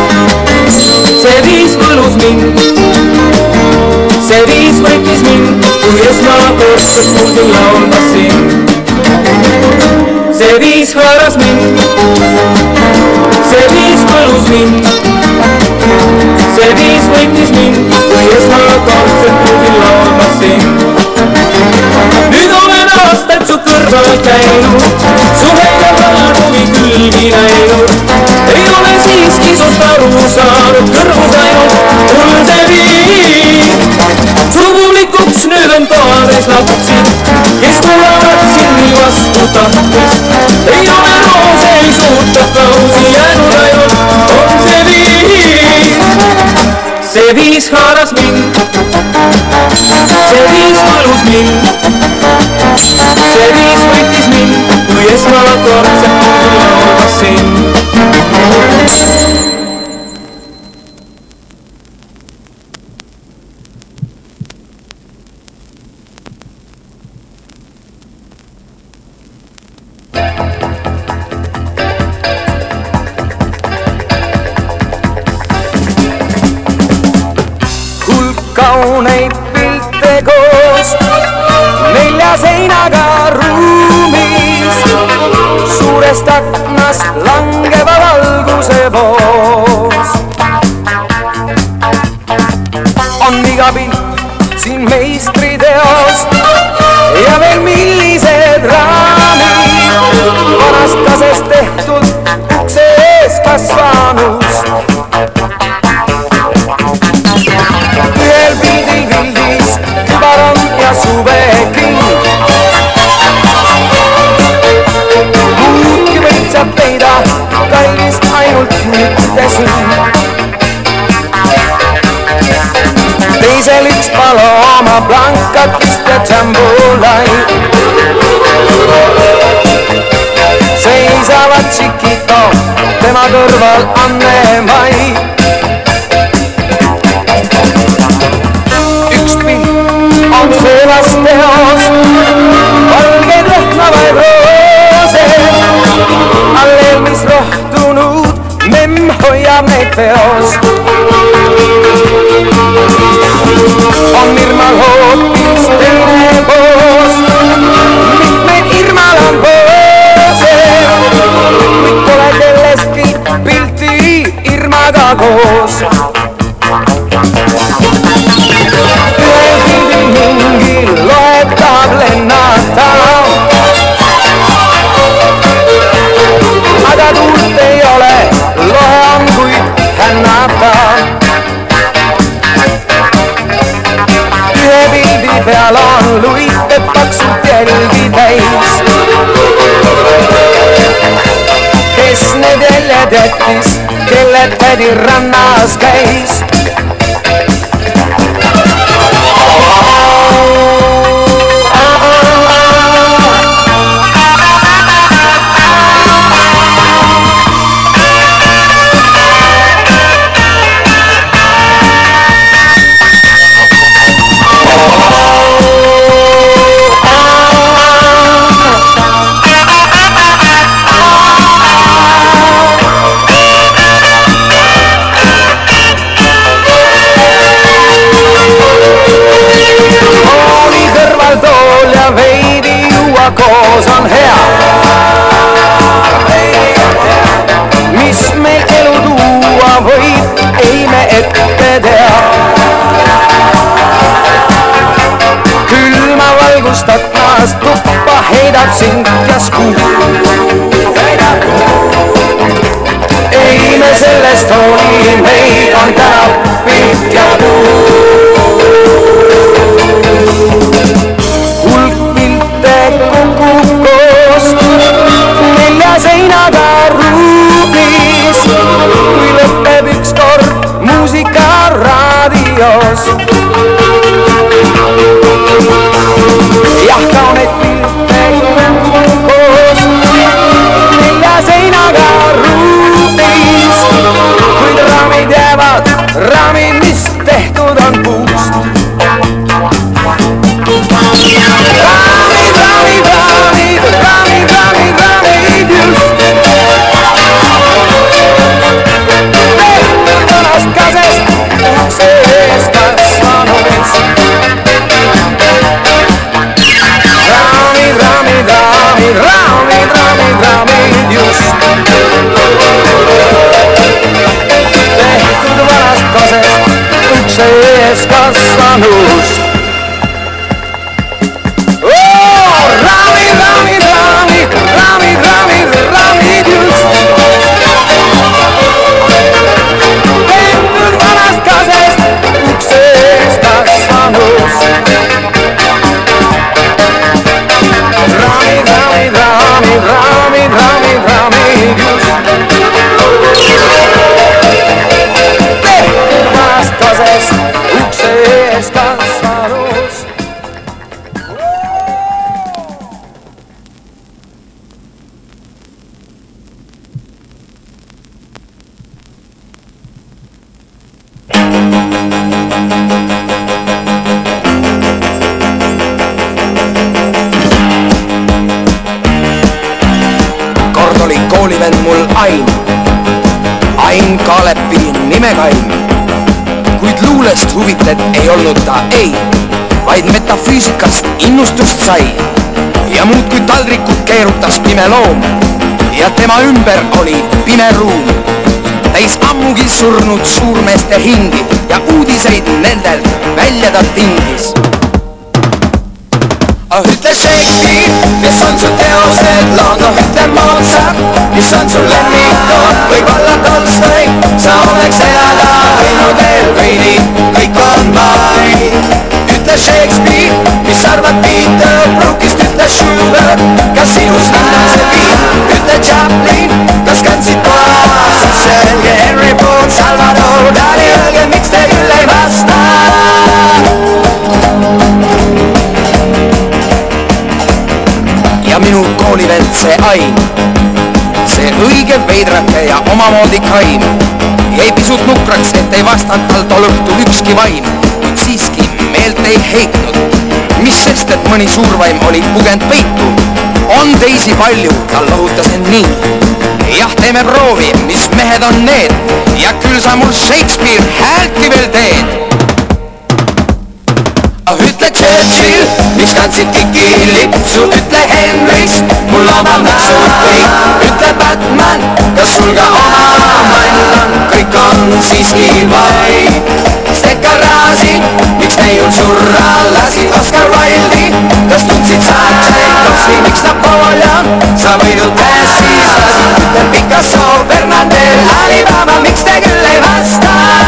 see viis võlus mind, see viis võitis mind, kui esmakordselt kuulsin laulmas sind. See viis haaras mind, see viis võlus mind, see viis võitis mind, kui esmakordselt kuulsin laulmas sind. Nüüd olen aastaid su kõrval käinud, su häida valguvi külgi näinud, ei ole siiski sust aru saanud, kõrvus ainult mul see viis. Su publikuks nüüd on toades lapsi, kes tulevad sind vastu tahtes, ei ole roose, ei suurt aplausi jäänud, ainult on see viis. See viis haaras mind, see viis võlus mind, see viis võitis mind, kui esmakordselt kuulsin laulmas sind. Kauneid pilte koos nelja seinaga ruumis, suurest aknast langeva valguse voos. On iga pilt siin meistriteost ja veel millised raamid, vanast kasest tehtud ukse ees kasvanust. Ühel pildil pildis kübaram ja suveking, muudki võid sa peida, kallis ainult mitte sind. Teisel üks Paloma Blancatist ja Jambolai seisavad Chiquito, tema kõrval Anne-Mai. Üks pilt on sellest teost, veedab neid peos. On Irmal hoopis teine poos, mitmeid Irmal on poose, kuid pole kellestki pilti Irmaga koos. Ühel pildil mingi loetab lennata, aga tuult ei ole, loe on kuid hännata. Ühe pildi peal on luite paksult jälgi täis, kes need jäljed jättis, kelle tädi rannas käis. Koos on hea, mis meil elu tuua võib, ei me ette tea. Külma valgust aknast tuppa heidab sind ja skuu. Ei me sellest hooli, meid on täna pilt ja puu. Seinaga ruumis, kui lõpeb ükskord muusika raadios. Jah, kauneid pilte koos, nelja seinaga ruumis, kuid raamid jäävad, raamid, mis tehtud on puust. Raamid, raamid, raamid, raamid, raamid, raamid just. Kasest ukse ees kasvanuks. Raamid, raamid, raamid, raamid, raamid, raamid just. Tehtud vanast kasest ukse ees kasvanuks. Raamid, raamid, raamid, raamid, raamid, raamid just. Raamid, raamid, raamid, raamid, raamid, raamid just. Tehtud vanast kasest ukse ees kasvanus. Koolivend mul Ain, Ain Kaalepi nimekaim, kuid luulest huvitled ei olnud ta ei, vaid metafüüsikast innustust sai ja muud kui taldrikut keerutas pime loom ja tema ümber oli pime ruum, täis ammugi surnud suurmeeste hingi ja uudiseid nendelt välja ta tingis. Oh, ütle Shakespeare, mis on su teosed lood, oh ütle Mozart, mis on su lemmikud, võib-olla Tolstoi, sa oleks elada võinud eelveidi, kõik on vaid. Ütle Shakespeare, mis arvad Peter Brookist, ütle Schubert, kas sinus linnase viib, ütle Chaplin, kas kandsid toas, selge Henry Ford, Salvador Dali, öelge, miks te küll ei vasta. Ja minu koolivend see Ain, see õige veidrake ja omamoodi kaim, jäi pisut nukraks, et ei vastanud tal tol õhtul ükski vaim, kuid siiski meelt ei heitnud, mis sest, et mõni suurvaim oli pugend peitu. On teisi palju, ta lohutas end nii, jah, teeme proovi, mis mehed on need ja küll sa mul Shakespeare häälti veel teed. Ütle Churchill, miks kandsid kikili, su ütle Henrys, mul oma nõksud kõik. Ütle Batman, kas sul ka oma mann on, kõik on siiski vaid. Stekarasi, miks neiul surra lasi, Oscar Wilde'i, kas tundsid sa Tšaikovski, miks Napoleon, sa võidult pääsis lasi. Ütle Picasso, Bernardel, Alibaba, miks te küll ei vasta?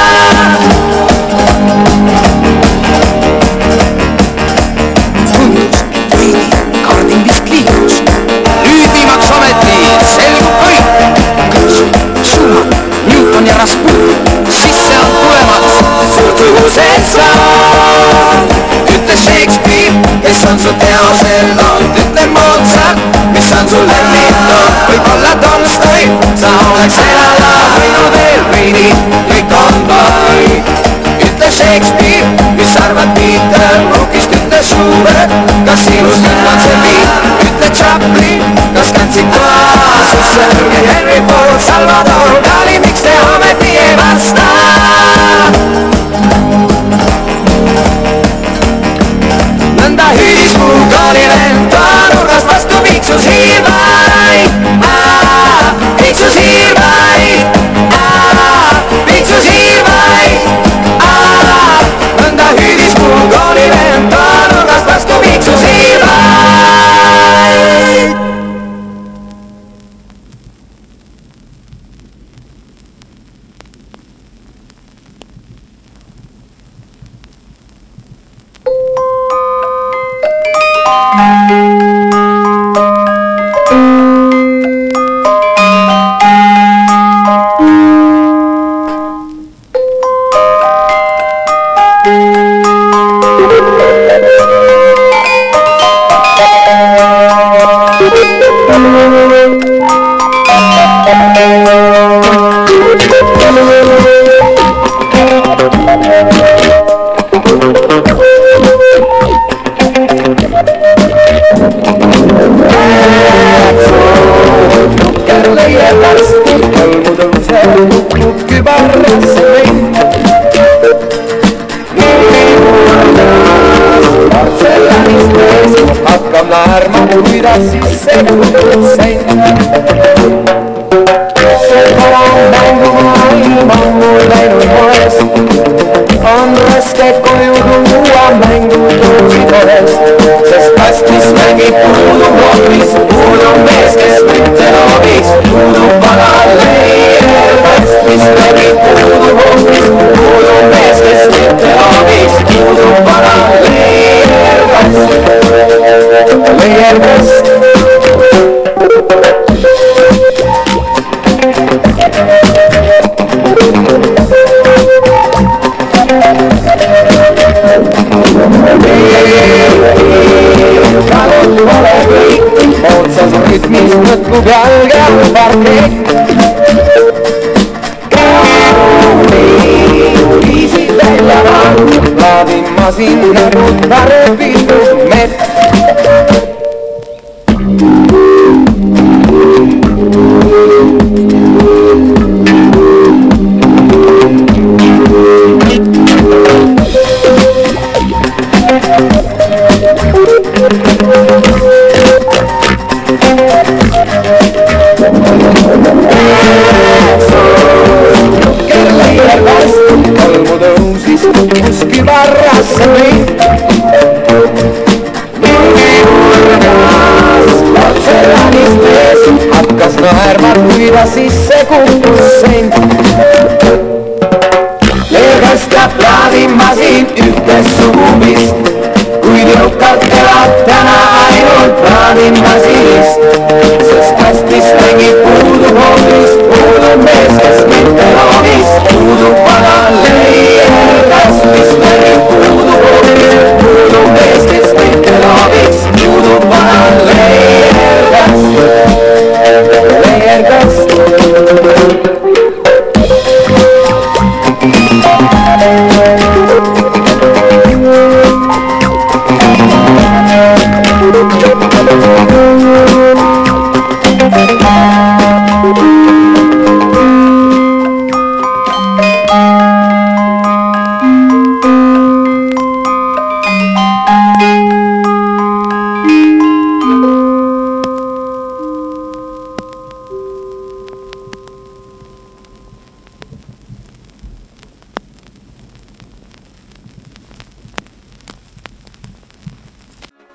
Nüüd viimaks ometi selgub kõik. Schumann, Newton ja Rasputin, sisse on tulemas suurtugused saad. Ütle Shakespeare, kes on su teosel olnud, ütle Mozart, mis on su lemmitud. Võib-olla Tolstoi, sa oleks elada võinud veel veidi, kõik on vaid. Ütle Shakespeare, mis arvad Peter Brookist, ütle Schubert, kas sinust nüüd on see viid. Ütle Chaplin, kas kandsid kaasusse, ja Henry Ford, Salvador Dali, miks te ometi ei vasta? Nõnda hüüdis mu koolivend, toanurgast vastu piiksus hiirvaid. Piiksus hiirvaid, piiksus hiirvaid. Nõnda hüüdis mu koolivend, toanurgast vastu piiksus hiirvaid.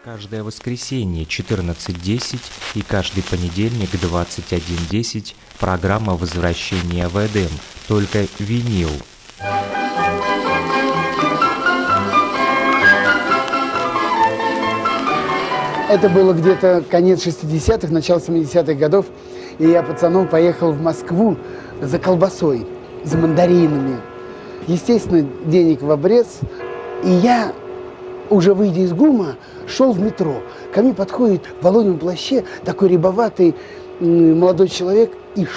Каждое воскресенье четырнадцать десять и каждый понедельник двадцать один десять программа «Возвращение в Эдем», только винил. Это было где-то конец шестидесятых, начало семидесятых годов, и я пацаном поехал в Москву за колбасой, за мандаринами. Естественно, денег в обрез, и я, уже выйдя из ГУМа, шел в метро. Ко мне подходит в воловьем плаще такой рябоватый молодой человек и